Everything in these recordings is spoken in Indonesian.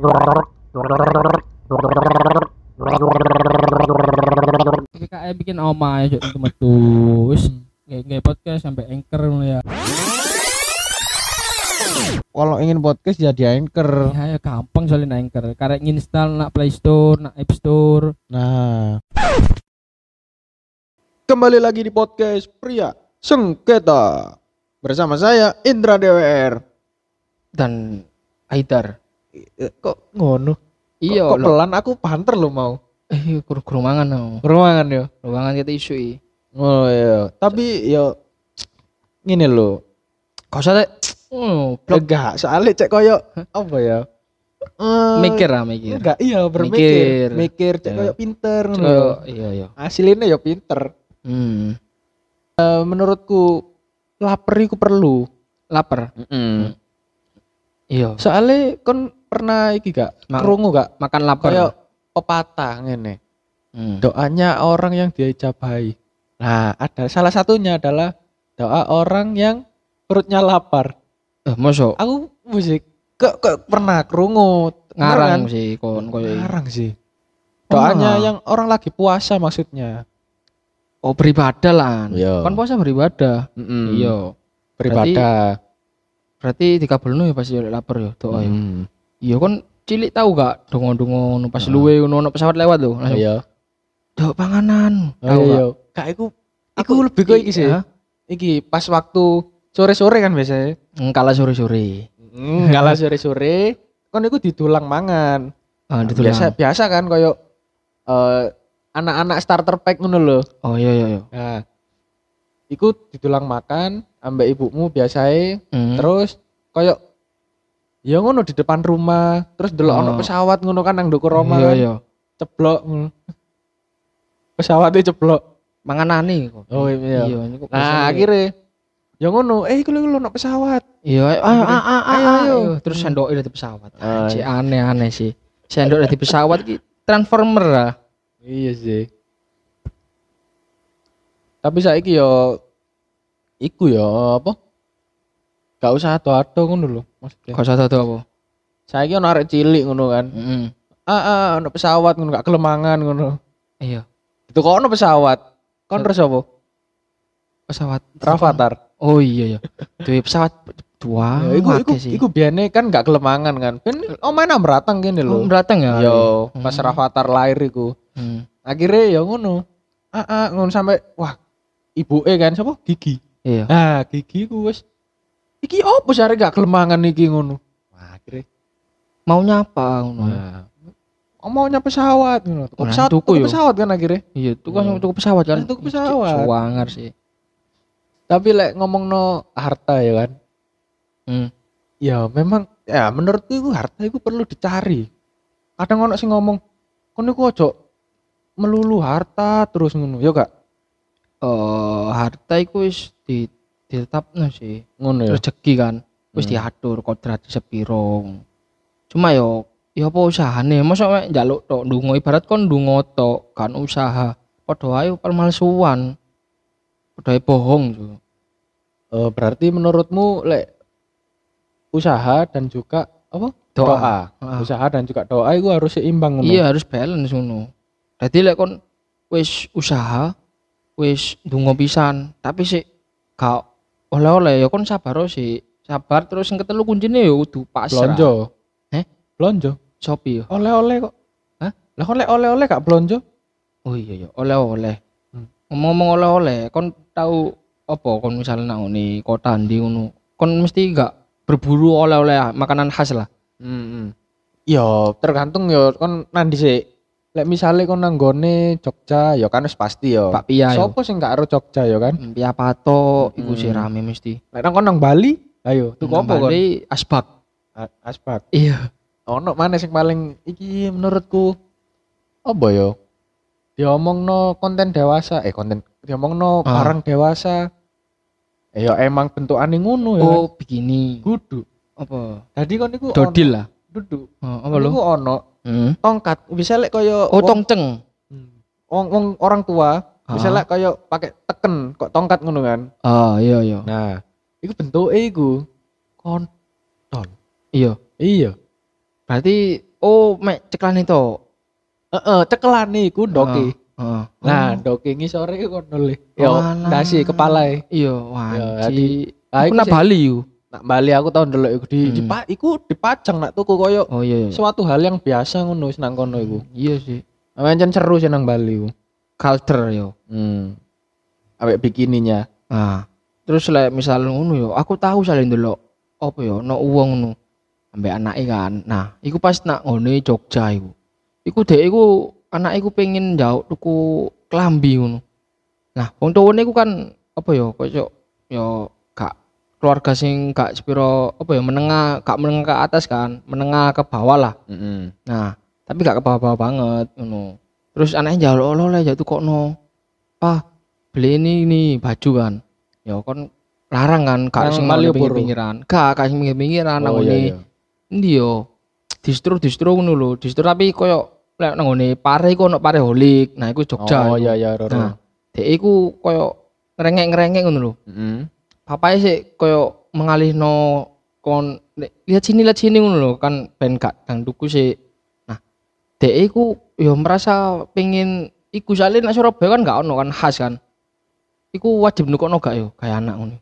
PKE bikin omah ya cuk metu. Wis nggak podcast sampai anchor ngono ya. Kalau ingin podcast jadi anchor. Ya gampang soalnya anchor. Karek nginstal nak Play Store, nak App Store. Nah, kembali lagi di podcast Pria Sengketa bersama saya Indra DWR. Dan Aidar. Kok ngono? Iya, Kok pelan aku banter lo mau. Kurang mangan no. Ruangan yo. Ruangan kita isu i. Oh iya. Tapi yo ngene lho. Kau usah blok Enggak, soalnya cek koyo apa ya? mikir lah mikir. Enggak, iya berpikir. Mikir. Mikir cek Ya. koyo pinter ngono Koyo lho. iya. Hasilnya yo pinter. Menurutku lapar iku perlu. Lapar. Iya. Soalnya kon pernah iki gak krungu gak Makan lapar. kayak pepatah ngene. Doanya orang yang diijabahi. Nah, ada salah satunya adalah doa orang yang perutnya lapar. Mosok Aku musik kok pernah krungu ngarang kan? sih kon koyo. Ngarang sih. Doanya Oh. yang orang lagi puasa maksudnya. Oh beribadah lah. Iya. Kan puasa beribadah. Iya. Beribadah. Berarti dikabulno ya pas yo lapar yo doa yo. Mm. Iya kon cilik tahu gak dongo-dongo nu pas luwe ono pesawat lewat lho. Langsung Iya. dok panganan. Tahu Oh, gak? iya. Kak iku lebih kok iki sih. Hah? Iki pas waktu sore-sore kan biasanya. Kala sore-sore. Ngalah sore-sore kon iku didulang mangan. Ditulang. Biasa kan koyo anak-anak starter pack ngono lho. Oh iya. Nah, iku didulang makan ambek ibumu biasae. Terus koyo ya ngono di depan rumah, terus delok ono pesawat ngono kan nang ndukur omah. Iya. Ceblok ngono. Pesawatnya ceblok. Manganane kok. Oh iya. Iya ini kok. Nah, akhirnya ya ngono, iku lho ono pesawat. Iya, ayo. Terus sendok dari pesawat. Ah, Si aneh-aneh sih. Sendok dari pesawat ki transformer lah. Iya sih. Tapi saiki yo iku yo apa? Gak usah ado-ado ngono lho maksudnya. Kok satu apa? Saiki ono arek cilik ngono kan. Ono pesawat ngono gak kelemangan ngono. Iya. Itu kok ono pesawat. Kon terus apa? Pesawat Rafathar. Oh iya. Duwe pesawat dua. Ya, iku biane kan gak kelemangan kan. Ben omae nang ratang kene lho. Datang ya. Yo, pas Rafathar lahir iku. Akhirnya ya ngono. Ngono sampai wah, ibuke kan sapa? Gigi. Iya. Nah, Gigi ku wis iki opo sare gak kelemangan iki ngono. Wah, akhirnya Maunya apa ngono. nah, maunya pesawat ngono. Nah, Pesawat tuku tuku yo. pesawat kan akhirnya. Iya, tuku pesawat kan. Tuku pesawat. Suwangar sih. Tapi lek ngomongno harta ya kan. Ya memang ya menurutku itu harta itu perlu dicari. Kadang ono sing ngomong, "Kon iku ojo melulu harta terus ngono." Ya gak? Harta iku wis ditetapno sih. Ngono ya. Rezeki kan wis diatur kodrat sepiro. Cuma yo apa usahane? Mosok mek njaluk tok ndonga ibarat kon ndonga tok kan usaha. Padha ae palmalsuan. Padha ae bohong yo. Berarti menurutmu lek usaha dan juga apa? Doa. Usaha dan juga doa itu harus seimbang ngono. Iya harus balance ngono. Dadi lek kon wis usaha, wis ndonga pisan, tapi sik gak oleh-oleh ya kon sabar sih. Sabar terus sing ketelu kuncine ya kudu pasrah. Blonjo. Blonjo. Sopi yo. Oleh-oleh kok. Hah? Lah kon lek oleh-oleh gak blonjo? Oh iya oleh-oleh. Ngomong oleh-oleh, kon tahu apa kon misalnya nang ngene kota ndi ngono. Kon mesti gak berburu oleh-oleh makanan khas lah. Yo tergantung yo kon nandi sik. Lek misale kon nang gone Jogja ya kan wis pasti yo. Bakpia yo. Sopo sing gak ero Jogja yo kan? Pia pato iku sih rame mesti. Lek nang kon nang Bali, ayo tuku apa kon? Bali asbak. Aspak. Iya. Ono mana sing paling iki menurutku apa yo? Diomongno konten dewasa, diomongno barang dewasa. Ya emang bentukane ngono ya. Oh, begini. Kudu. Apa? Tadi kon niku Dodil lah. duduk. Apa lho? Niku ono tongkat, bisa lek koyo Oh, tongceng. wong orang tua, bisa lek koyo pakai teken kok tongkat ngono kan. Iya. Nah, iku bentuke iku kontol. Iya. Iya. Berarti Oh, mek ceklan itu. Cekelan iku ndoke. Heeh. Nah, ndoke ngisore iku kono le. Yo ndasi kepalae. Iya, Yo wanci. aku Nak Bali yo. Nak Bali aku tau ndelok iku iku dipajang nak tuku koyo Oh iya. suatu hal yang biasa ngono wis nang kono iku. Iya sih. Pancen seru sih nang Bali iku. Culture yo. Awek bikininya. Nah, terus lek misal ngono yo, aku tahu sale ndelok apa yo, ono wong ngono ambek anake kan. Nah, iku pas nak ngene Jogja iku. Iku dek iku anake iku pengen njauk tuku klambi ngono. Nah, wong tuwane iku kan apa yo, koyo yo gak keluarga sing gak sepiro apa ya menengah, gak menengah ke atas kan, menengah ke bawah lah. Nah, tapi gak ke bawah-bawah banget ngono. Terus anaknya njaluk oleh jatuh kokno. "Pak, beli ini baju kan." Ya kon larang kan, gak sing pinggir-pinggiran. Gak sing pinggir-pinggiran nang ngene. Endi yo? Distro ngono lho. Distro tapi koyo lek nang ngene pare iku ono pare holik. Nah, iku Jogja. Oh iya, Nah, dek iku koyo ngerengek ngono lho. Papae sih koyo mengalihno kon lihat sini ngono lho kan ben gak dang tuku sih. Nah, dek iku yo merasa pengen iku sale nek Surabaya kan gak ono kan khas kan. Iku wajib nukokno gak yo kayak anak ngono.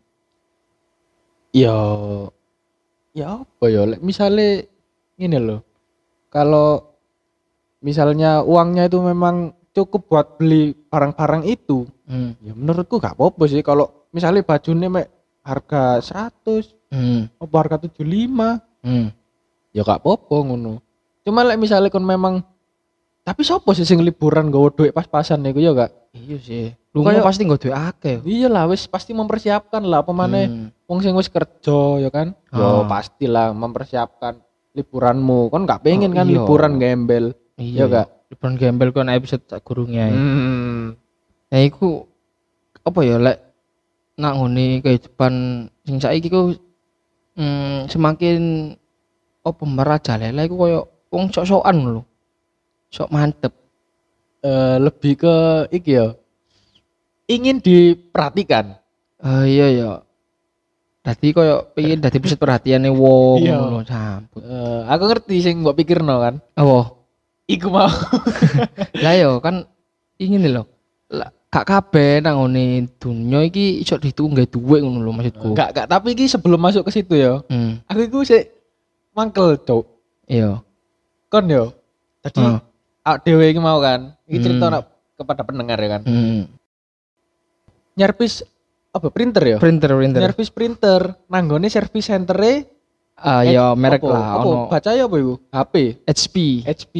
Ya apa ya lek misale ngene lho. Kalau misalnya uangnya itu memang cukup buat beli barang-barang itu, ya menurutku gak apa-apa sih kalau misalnya bajune mek harga 100, apa harga 75, ya gak apa-apa ngono. Cuma lek misalnya kon memang tapi sopo sih sing liburan nggawa duit pas-pasan niku ya gak? Iya sih. Lu kan pasti nggo duit akeh. Iya lah wis pasti mempersiapkan lah apa maneh wong sing wis kerja ya kan. Yo pastilah mempersiapkan liburanmu. Kon gak pengen kan liburan gembel. Iya gak? Liburan gembel kan episode sak gurunge. Nah iku apa ya lek nak ngene kehidupan sing saiki ku semakin apa merajalela iku koyo wong sok-sokan lho. Sok mantep. Lebih ke iki ya. Ingin diperhatikan. Iya ya. Dadi koyo pengen dadi pusat perhatiane wong ngono sampun. Aku ngerti sing mbok pikirno kan. Apa? Iku mau. Lah yo kan ingin lho. Gak kabeh nang ngene dunya iki iso ditunggu duwe ngono lho maksudku. Gak, tapi iki sebelum masuk ke situ ya. Aku iku sik mangkel, Cuk. Iya. Kon yo. Tadi dhewe iki mau kan. Iki cerita kepada pendengar ya kan. Nyervis apa printer ya? Printer. Nyervis printer nanggone service center-e ya merek lah ono. Baca ya apa iku? HP. HP.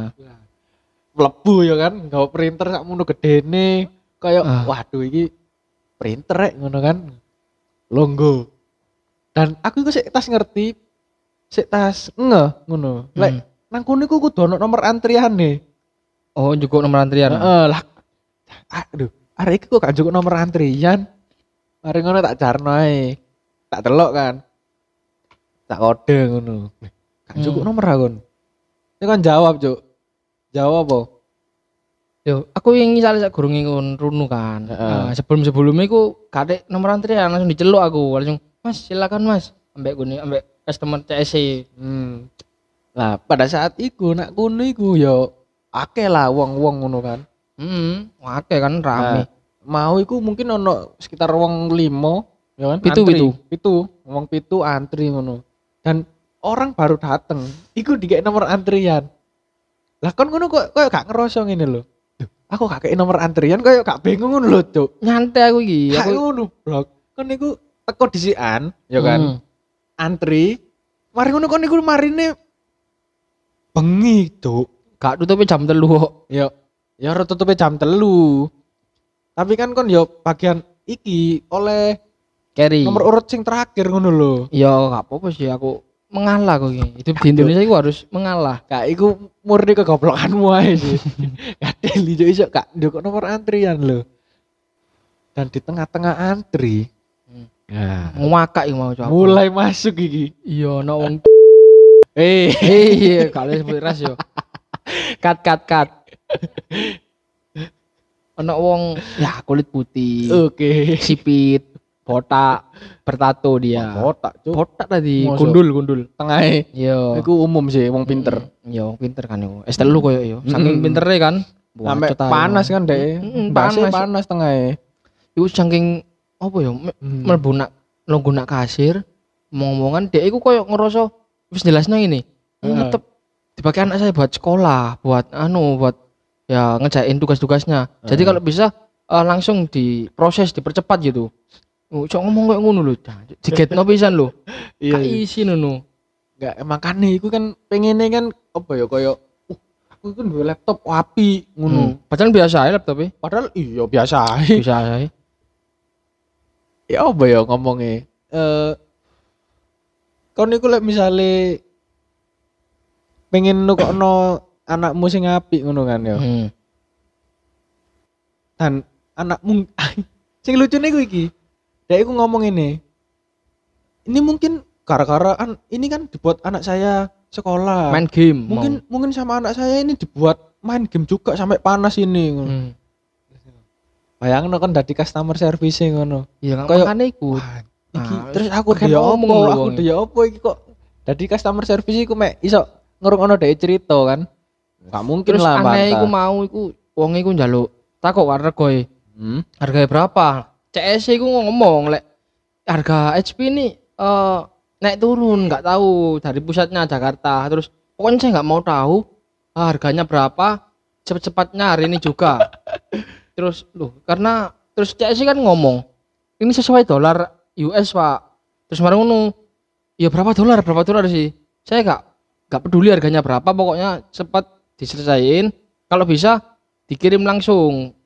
Mlebu ya kan, gawe printer sakmono gedene. Kayak waduh iki printer rek ngono kan. Longgo. Dan aku iku sik tas ngerti, sik tas ngono. Lek nang kono iku kudu ono nomor antriane. Oh, njukuk nomor antrian. Lah. Aduh, arek iki kok gak njukuk nomor antrian. Mari ngono tak jarno ae. Tak delok kan. Tak kode ngono. Gak njukuk nomor akon. Itu kan jawab, Cuk. Jawab apa? Yo, aku yang misalnya sak gurunge ngun runu kan. Sebelum-sebelumnya iku kadek nomor antrian langsung diceluk aku, langsung, "Mas, silakan Mas." Ambek gune ambek customer CSC. Lah, pada saat iku nak kono iku yo akeh lah wong-wong ngono kan. Akeh kan rame. Mau iku mungkin ono sekitar wong 5 ya kan. Pitu, wong pitu antri ngono. Dan orang baru dateng, iku dikek nomor antrian. Lah kon ngono kok gak ngerasa ngene lho. Aku gak kei nomor antrian koyo gak bingung ngono lho, Cuk. Nyantai aku iki. Aku ngono, Blok. Kon niku teko disikan, ya kan. Antri. Mari ngono kon niku marine bengi, Cuk. Gak tutupe jam 3 kok. Ya ora tutupe jam 3. Tapi kan kon yo bagian iki oleh carry. Nomor urut sing terakhir ngono lho. Ya gak apa-apa sih aku mengalah kok iki. Hidup di Indonesia iku harus mengalah. Kak iku murni kegoblokanmu ae sih. Kadel iso gak nduk nomor antrian lho. Dan di tengah-tengah antri. Ngwakak iku mau coba. Mulai masuk iki. Iya ono wong iya kalau sebut ras yo. Kat. Ono wong ya kulit putih. Oke. Sipit. botak bertato dia. Botak, Cuk. Botak tadi, Mosok. gundul. Tengahe. Yo. Iku umum sih wong pinter. Yo, pinter kan yo. S3 koyo yo. Saking pintere kan. Sampai Bacot ae. panas kan deh. Panas. Panas tengahe. Iku saking apa ya mlebu nak nunggu nak kasir ngomong-ngomongan dia iku koyo ngerasa wis jelasnya ini. Tetep dipakai anak saya buat sekolah, buat ya ngejain tugas-tugasnya. Jadi kalau bisa langsung diproses, dipercepat gitu. Cok ngomong kayak ngono lho. Digetno pisan lho. Iya. Isi ngono. Enggak makane iku kan pengene kan apa ya koyo aku iku duwe laptop api ngono. Padahal biasa ae laptop e. Padahal iya biasa ae. Bisa ae. Ya apa ya ngomongnya? Kon iku lek misale pengen nukokno anakmu sing apik ngono kan ya. Dan anakmu sing lucune iku iki. Dek iku ngomong ini. Ini mungkin gara-gara ini kan dibuat anak saya sekolah. Main game. Mungkin sama anak saya ini dibuat main game juga sampai panas ini ngono. Bayangno kan dadi customer service ngono. Iya kan makane iku. Iki terus aku dia opo iki kok dadi customer service iku mek iso ngrungokno dhek cerita kan. Enggak mungkin terus lah aneh iku mau iku wong iku njaluk takok regoe. Harganya berapa? CS iku ngomong lek harga HP ini naik turun enggak tahu dari pusatnya Jakarta. Terus pokoknya saya enggak mau tahu harganya berapa cepet-cepatnya hari ini juga. Terus karena terus CS kan ngomong ini sesuai dolar US Pak. Terus marang ngono ya berapa dolar sih, saya enggak peduli harganya berapa, pokoknya cepat diselesain, kalau bisa dikirim langsung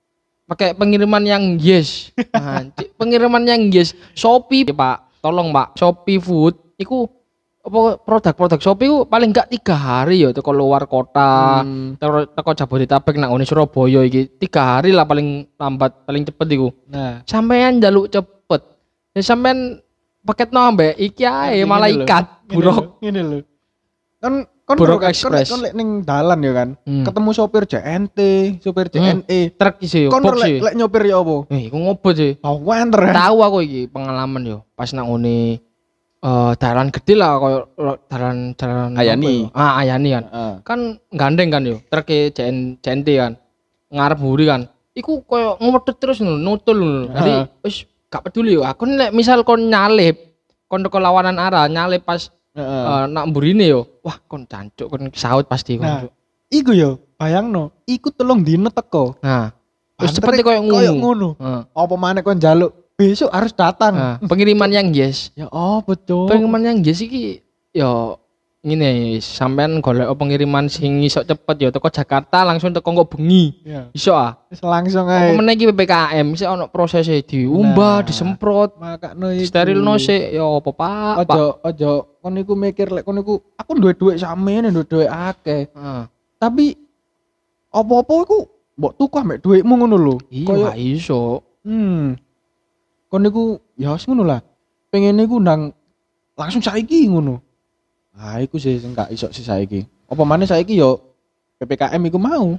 pakai pengiriman yang yes. Nah, pengiriman yang yes Shopee Pak, tolong Pak, Shopee Food iku apa produk Shopee ku paling enggak 3 hari ya teko luar kota, teko Jabodetabek nang ngene Surabaya iki 3 hari lah paling lambat, paling cepet iku. Nah, sampean njaluk cepet. Ya sampean paket ambek iki ae malaikat buruk. Ngene lho. Kan Buruk Express. Kon lek ning dalan ya kan, ketemu sopir JNT, sopir JNE, truk iki yo. Kon lek nyopir ya apa? Iku ngobot sih. Wenter. Tahu aku iki pengalaman yo. Pas nang ngene dalan gede lah koyo dalan Ayani. Ayani kan. Kan gandeng kan yo. Truk JNT kan. Ngarep mburi kan. Iku koyo ngomedhet terus nutul ngono. Jadi wis gak peduli yo. Aku nek misal kon nyalip, kon teko lawanan arah nyalip pas nak mburine yo. Wah, kon cancuk kon saut pasti kon. Nah, iku yo, bayangno, iku 3 dino teko. Nah, wis cepet koyo ngono. Apa maneh kon njaluk besok harus datang. Pengiriman yang yes. Ya betul. Pengiriman yang yes iki yo ngene sampean golek pengiriman sing iso cepet ya teko Jakarta langsung teko kok bengi. Iso Wis langsung ae. Apa meneh iki PPKM sik ono prosese diumbah, disemprot, makakno iku. sterilno sik ya apa Pak. Ojo kon niku mikir lek kon niku aku duwe dhuwit samene, duwe dhuwit akeh. Tapi apa-apa iku mbok tuku ambek dhuwitmu ngono lho. Iya iso. Kon niku ya wis ngono lah. Pengen niku ndang langsung saiki ngono. Ah, iku sih sing gak iso sih saiki. Apa maneh saiki yo PPKM iku mau.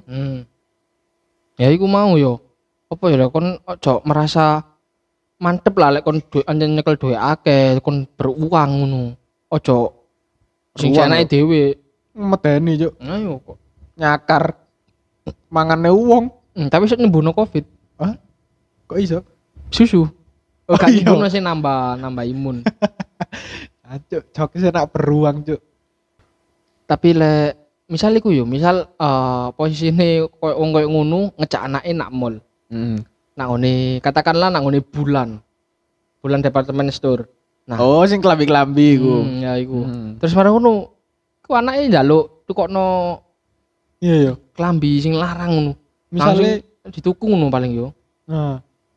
Ya iku mau yo. Apa ya kon ojo merasa mantep lah lek kon anjen nyekel duwe akeh, kon beruang ngono. Ojo sing jenenge dhewe medeni, Cuk. Ayo kok Nyakar mangane wong. Tapi iso nyembuhno Covid. Hah? Kok iso? Susu. Gak nyembuhno sih nambah imun. Cuk, jokes nak beruang, Cuk. Tapi lek misal iku yo, misal posisine koyo wong koyo ngono ngejak anake nak mall. Nak ngene katakanlah nak ngene bulan departemen store. Nah, sing klambi-klambi iku. Ya iku. Terus marang ngono, ku anake njaluk tukokno iya yo, klambi sing larang ngono. Misale dituku ngono paling yo. Nah.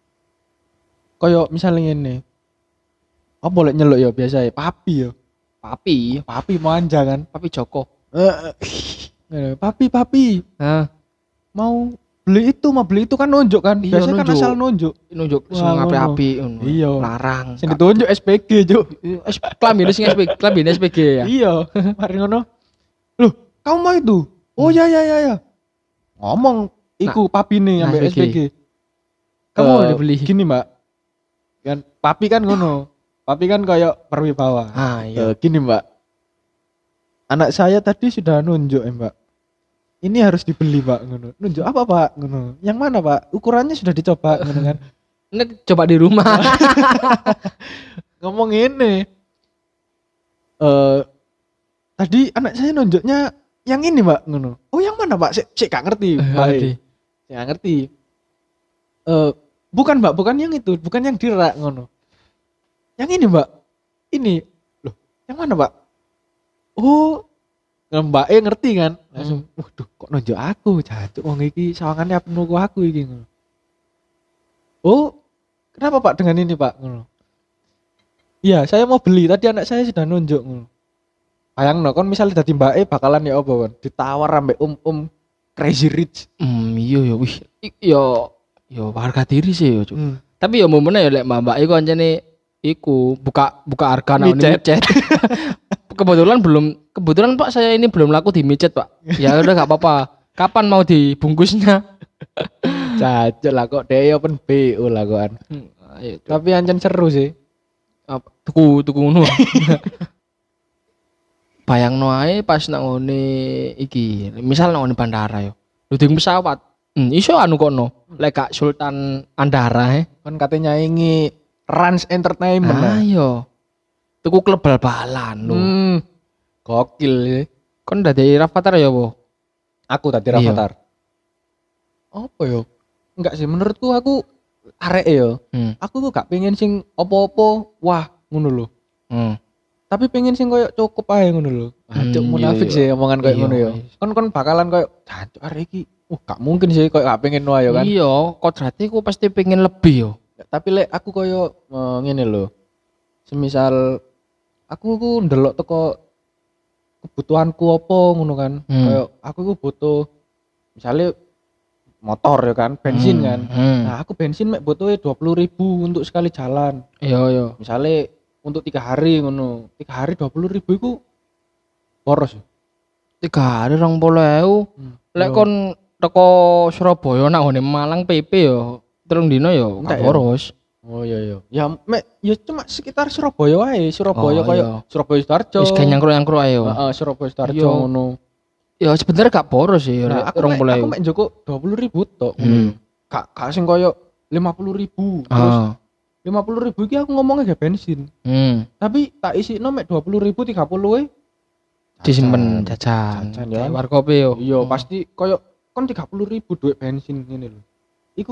Koyo misale ngene. Apa boleh nyeluk ya biasa ya papi ya. Papi manja kan. Papi Joko. Papi. Mau beli itu kan nunjuk kan. Biasanya kan asal nunjuk sing api-api ngono. Iya. Larang. Sing ditunjuk SPG, Cuk. Klambine sing SPG ya. Iya. Mari ngono. Loh, kamu mau itu? Oh ya. Ngomong iku papine ambek SPG. Kamu udah beli. Gini, Mbak. Kan papi kan ngono. Papi kan kayak berwibawa. Iya. Gini Mbak. Anak saya tadi sudah nunjuk Mbak. Ini harus dibeli Pak ngono. Nunjuk apa Pak ngono? Yang mana Pak? Ukurannya sudah dicoba ngono kan. Ini coba di rumah. Ngomong ini. Tadi anak saya nunjuknya yang ini Mbak ngono. Oh yang mana Pak? Sik gak ngerti. Gak ngerti. Bukan Mbak, bukan yang itu, bukan yang dirak ngono. Yang ini Mbak. Ini. Loh, yang mana Pak? Oh, Mbak ngerti kan? Langsung, waduh kok nunjuk aku, jancuk wong iki sawangannya penuh aku iki ngono. Oh, kenapa Pak dengan ini Pak ngono? Iya, saya mau beli, tadi anak saya sudah nunjuk ngono. Bayangno kon misalnya dadi mbake bakalan ya apa kon? Ditawar ambek crazy rich. Iya ya wih. Yo harga diri sih yo, Cuk. Tapi yo momennya ya lek mbak iku anjene iku buka harga nang micet. Kebetulan Pak saya ini belum laku di micet Pak. Ya udah enggak apa-apa. Kapan mau dibungkusnya? Cacok lah kok dhewe open BO lah kokan. Tapi ancen seru sih. Apa tuku ngono. Bayangno ae pas nang ngene iki, misal nang ngene bandara yo. Luding pesawat. Iso anu kono. Lek gak Sultan Andara Kan katanya nyaingi Rans Entertainment. Ayo. Tuku klub bal-balan lho. Gokil ya. Kon dadi Rafathar ya, Bu? Aku tadi Rafathar. Apa yo? Enggak sih menurutku aku arek yo. Aku tuh gak pengen sing opo-opo wah ngono lho. Tapi pengen sing koyo cukup ae ngono lho. Cuk munafik sih omongan koyo ngono yo. Kon bakalan koyo jancuk arek iki. Gak mungkin sih koyo gak pengen wae yo kan. Iya, kodrate ku pasti pengen lebih yo. Tapi lek aku koyo ngene lho. Semisal aku ku ndelok teko kebutuhanku apa ngono kan. Kayak aku ku butuh misalnya motor ya kan, bensin kan. Nah, aku bensin mek butuhnya 20.000 untuk sekali jalan. Iya. Misalnya untuk 3 hari ngono. 3 hari 20.000 iku boros. 3 hari 20.000. Lek kon teko Surabaya nang ngene Malang PP yo, 3 dino yo gak boros. Oh iya. Ya mek ya cuma sekitar Surabaya wae. Surabaya koyo Surabaya Sidoarjo. Wis nyangkruk-nyangkruk ae yo. Heeh, Surabaya Sidoarjo ngono. Ya sebenarnya gak boros sih. Nah, aku mek njoko 20.000 tok. Gak sing koyo 50.000. Terus 50.000 iki aku ngomongnya gak bensin. Tapi tak isino mek 20.000 30 disimpen jajan. Ya. Warkop yo. Iya, pasti koyo kon 30.000 duit bensin ngene lho. Iku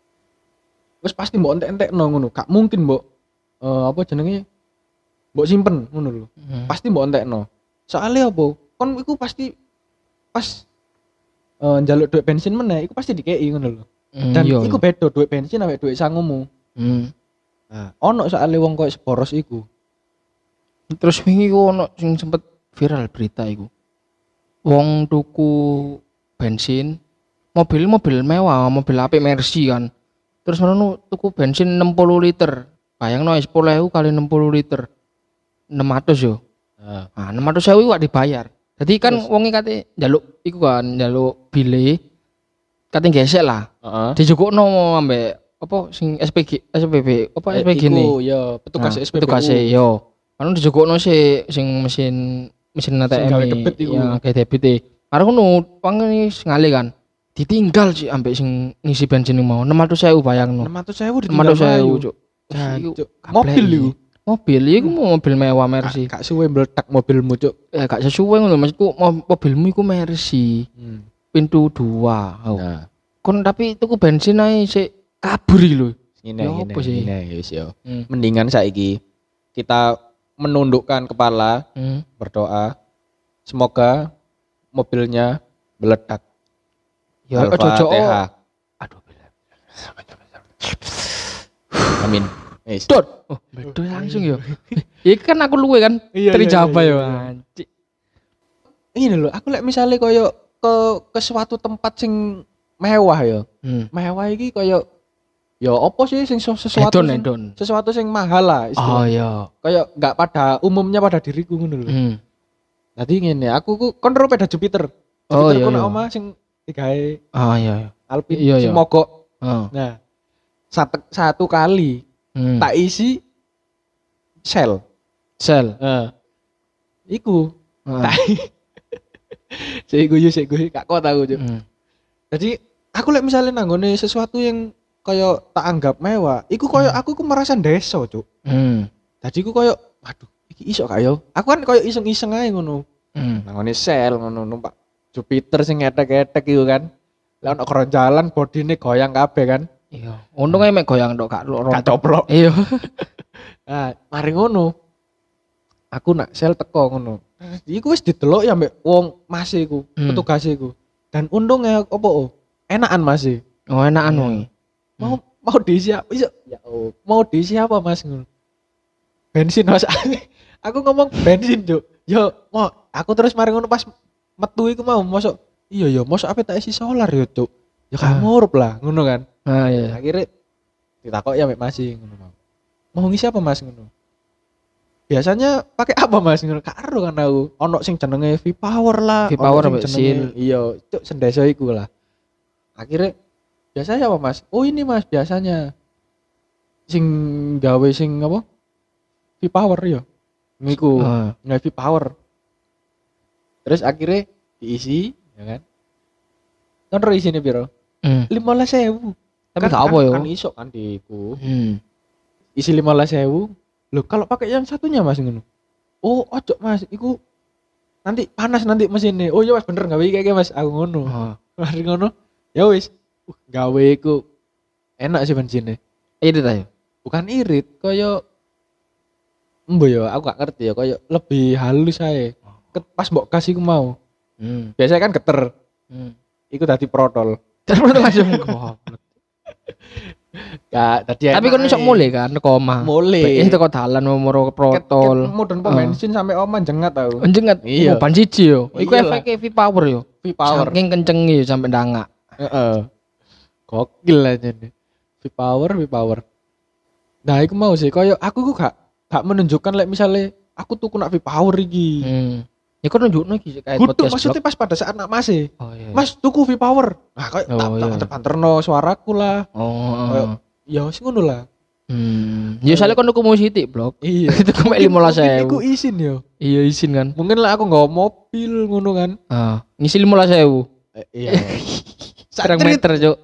wis pasti mbok entek-entekno ngono. Gak mungkin mbok apa jenenge mbok simpen ngono lho. Pasti mbok entekno. Soale apa? Kon iku pasti pas njaluk duit bensin meneh iku pasti dikei ngono lho. Dan iku beda duit bensin ambek duit sangumu. Nah, ono soalnya wong koyo seboros iku. Terus wingi ku ono sing sempet viral berita iku. Wong tuku bensin, mobil mewah, mobil apik Mercy kan. Terus ngono tuku bensin 60 liter. Bayangno 10.000 kali 60 liter. 600 yo. Nah, 600.000 iku gak dibayar. Jadi kan wonge kate njaluk iku kan, njaluk bile kate gesek lah. Dijukukno ambek apa sing SPB apa SPG ne? Iku ya petugas SPBU. Petugas yo. Anu dijukukno sing mesin ATM ya kayak debit. Karo ngono wong ngale kan. Ditinggal sih ambek sing ngisi bensin mau 600.000 bayangno. 600.000 ditinggal 600.000 cuk. Mobil iku. Mobil iku mobil mewah Mercy. Gak suwe meledak mobilmu cuk. Gak sesuai ngono maksudku mobilmu iku Mercy. Pintu 2. Nah. Kon tapi tuku bensin ae sik kabur iki lho. Ngene wis yo. Mendingan saiki kita menundukkan kepala, berdoa semoga mobilnya meledak. Ya ojo. Aduh. Amin. Wis. Dot. Oh, bedo langsung yo. Iki kan aku luwe kan. Terjawab yo. Anjir. Ini lho, aku lek misale koyo ke suatu tempat sing mewah yo. Mewah iki koyo ya apa sih sing sesuatu sing mahal lah istilahnya. Oh iya. Kayak enggak pada umumnya pada diriku ngono lho. Dadi ngene, aku ku kon ro peda Jupiter. Jupiter ku nang omah sing digawe iya. Alpine sing mogok. Nah, satu kali Tak isi sel. Iku. Tak. Sik guyu gak kuat aku, Cuk. Jadi aku lek misalnya nanggone sesuatu yang kayak tak anggap mewah, iku kayak aku merasa ndeso, Cuk. Jadi aku kayak waduh, iki iso gak yo? Aku kan kayak iseng-iseng ae ngono. Nanggone sel ngono numpak Jupiter sing ngetek-ngetek iku kan. Lah ono keronjalan bodine goyang kabeh kan. Iya. Untung mek goyang tok gak coplok. Iya. Nah, mari ngono. Aku nak sel teko ngono. Iku wis didelok ya mbek wong Mas iku, petugas iku. Dan untungnya opo? Enakan Mas. Oh, enakan wong. Mau diisi apa? Ya mau diisi apa Mas ngono. Bensin Mas. Aku ngomong bensin, Cuk. Yo, mau aku terus mari ngono pas metu iku mau mosok iya mosok apa tak isi solar yo, Cuk. Ya kamu ngurup lah ngono kan. Iya. Akhirnya ditakok ya mbek Mas ngono mau. Mau ngisi apa Mas ngono? Biasanya pakai apa Mas ngono? Karo kan aku. Ono sing jenenge V-Power lah. V-Power mbek Sil. Iya, Cuk sendeso iku lah. Akhirnya biasanya apa Mas? Oh ini Mas biasanya sing gawe sing apa? V-Power ya. Niku. Nggak V-Power. Terus akhirnya diisi, ya kan? Kan isine piro? 15.000. Tapi gak apa yo. Kan iso kan diku. Isi 15.000. Loh kalau pakai yang satunya Mas ngono. Oh, ojo Mas, iku nanti panas nanti mesinnya. Oh iya Mas bener gawe kayak Mas aku ngono. Mari ngono. Ya wis. Gawe iku enak sih bensinnya. Irit ayo. Bukan irit, koyo embo ya, aku gak ngerti ya, koyo lebih halus ae. Pas mbok kasih ku mau. Biasanya kan geter. Iku tadi protol. Terus langsung goblok. Gak tadi. Tapi kan iso mulai kan teko omah. Mulai. Teko dalan nomor protol. Mudun pom bensin sampai omah jengat tau. Jengat. Iya. Ban siji yo. Iku efeknya V-Power yo. V-Power. Saking kencengi sampai ndangak. Heeh. Gokil aja nih. V-Power. Nah, iku mau sih koyo aku ku gak menunjukkan lek misalnya aku tuku nak V-Power iki. Ya kok nunjukno iki kayak podcast. Maksudnya pas pada saat nak Mas iya. Mas tuku V-Power. Nah, koyo tak banterno suaraku lah. Koyo ya wis ngono lah. Ya soalnya kon tuku musik blok. Iya. Itu kok 15.000. Iku izin yo. Iya izin kan. Mungkin lah aku nggawa mobil ngono kan. Ngisi 15.000. Iya. Serang meter, Cuk.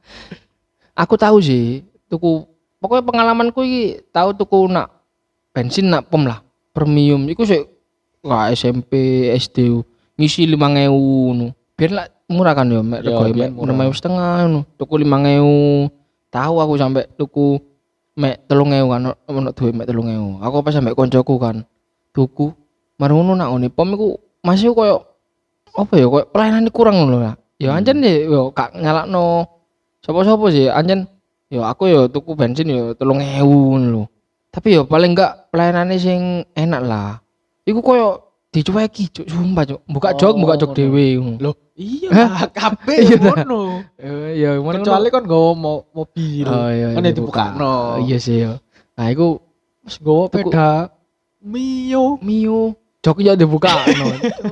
Aku tahu sih, tuku pokoknya pengalamanku iki tahu tuku nak bensin nak pom lah, premium. Iku sih wah SMP, SD ngisi 5.000 ngono. Biar lah murah kan yo, mek rego mek 6.500 ngono. Tuku 5.000. Tahu aku sampai tuku mek 3.000 kan, ono duwe mek 3.000. Aku pas sampai koncoku kan. Tuku mari ngono nak ngene pom iku masih koyo apa ya, koyo pelayanan kurang ngono lah. Ya anjen yo gak nyalakno sapa-sapa sih anjen yo aku yo tuku bensin yo 3.000 lho. Tapi yo paling enggak pelayanane sing enak lah. Iku koyo dicueki cuk, sumpah cuk. Buka jok dhewe ngono. Loh, iya kabeh ngono. Ya kecuali kon nggawa mobil. Kan dibukakno. Iya sih yo. Nah iku wis nggawa sepeda Mio. Jok yo dibukakno.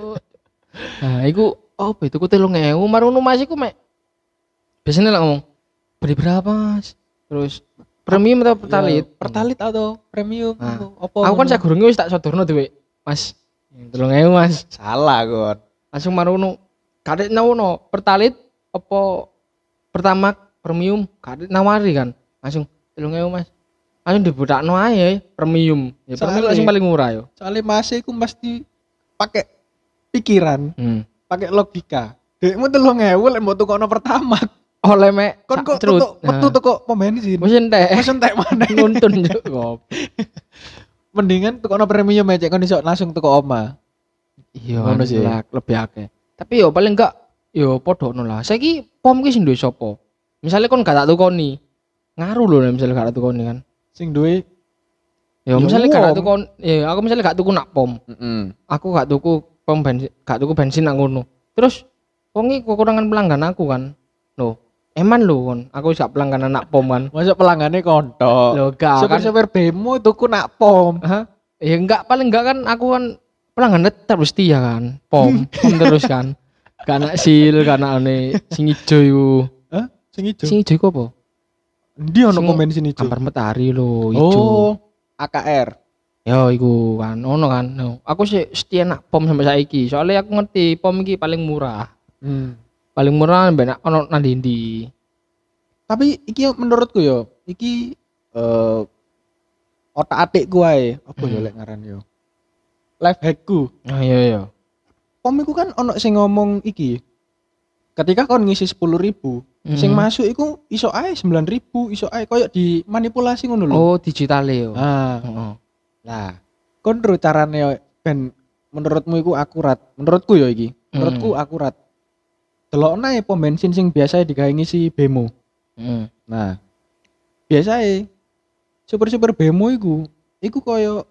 Nah iku apa itu ku 3.000 marono Mas iku mek biasanya lah ngomong beli berapa Mas, terus premium atau pertalit? Ya, pertalit atau premium apa aku kan sagurunge wis tak sodorno dhewe Mas 3.000 Mas. Salah kon langsung marono kadek nawono pertalit apa pertama premium kadek nawari kan langsung 3.000 Mas, langsung dibudakno ae premium ya premium sing paling murah yo soalnya Mas iku mesti pakai pikiran pakai logika. Dekmu 3.000 lek mbok tukokno pertama. Oleh mek kon kok metu toko pom bensin. Wis entek maneh. Nuntun yo. Mendingan tukokno premium aja kon iso langsung toko oma. Iya, ngono sih. Lebih akeh. Tapi yo paling enggak yo padha ngono lah. Saiki pom ki sing duwe sapa? Misale kon gak tak tukoni. Ngaruh lho nek misale gak tak tukoni kan. Sing duwe yo misale gak tak tukon, ya aku misale gak tuku nak pom. Aku gak tuku pom bensin, gak tuku bensin nang ngono. Terus wong iki kekurangan pelanggan aku kan. Loh, eman lho kon, aku gak pelanggan nak pom kan. Masa pelanggannya kontok. Lho gak kan. Sopir bemo tuku nak pom. Ya enggak, paling enggak kan aku kan pelanggan tetap setia kan. Pom terus kan. Gak nak sil, gak nak sing ijo iku. Sing ijo? Sing ijo iku apa? Ndi ono Sing pom bensin ijo? Ampar Matahari lho, ijo. Oh, AKR. Yo iku kan ono kan. No. Aku sih setia nak pom sampai saiki. Soalnya aku ngerti pom iki paling murah. Paling murah ben ono nang ndi. Tapi iki menurutku yo, iki otak-atikku ae. Apa yo lek ngaran yo? Life hackku. Ah iya. Pom iku kan ono sing ngomong iki. Ketika kon ngisi 10.000, sing masuk iku iso ae 9.000, iso ae koyo dimanipulasi ngono lho. Oh, digitale yo. Heeh. Lah, kon ro carane ben menurutmu iku akurat. Menurutku yo iki. Menurutku akurat. Delokna pom bensin sing biasa digawe ngisi bemo. Nah, biasae super bemo iku koyo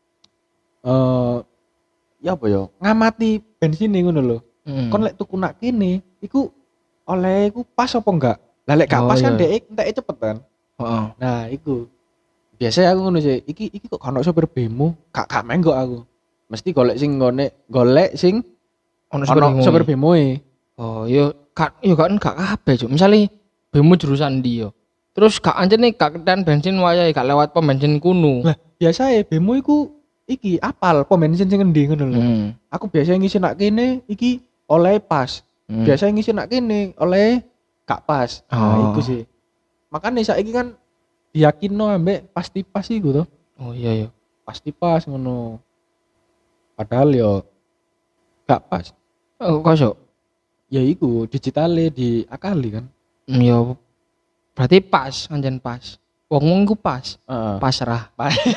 ya apa yo? Ngamati bensin ngono lho. Kon lek tuku nak kene iku oleh iku pas apa enggak? Lah lek gak pas kan dek enteke cepet kan. Heeh. Nah, iku. Biasanya aku ngono sih. Iki kok ono sopir bemo, gak menggok aku. Mesti golek sing ono sopir bemo-e. Oh, yo gak kabeh, Cuk. Misale bemo jurusan ndi yo. Terus gak anjene gak keten bensin wayahe gak lewat pom bensin kuno. Lah, biasae bemo iku iki apal pom bensin sing endi ngono lho. Aku biasanya ngisi nak kene iki oleh pas. Biasanya ngisi nak kene oleh gak pas. Nah, iku sih. Makane saiki kan diyakinno ambek pasti pas iku to. Oh iya. Pasti pas ngono. Padahal yo gak pas. Oh, kosok. Ya iku digitale diakali kan. Ya berarti pas, anjen pas. Wong-wong ku pas. Pasrah.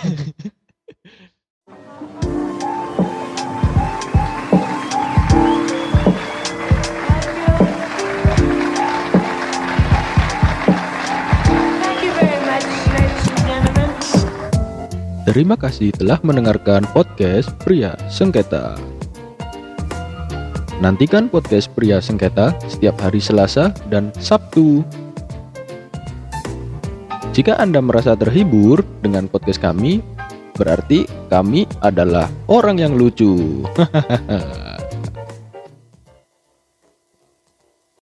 Terima kasih telah mendengarkan podcast Pria Sengketa. Nantikan podcast Pria Sengketa setiap hari Selasa dan Sabtu. Jika Anda merasa terhibur dengan podcast kami, berarti kami adalah orang yang lucu. Hahaha.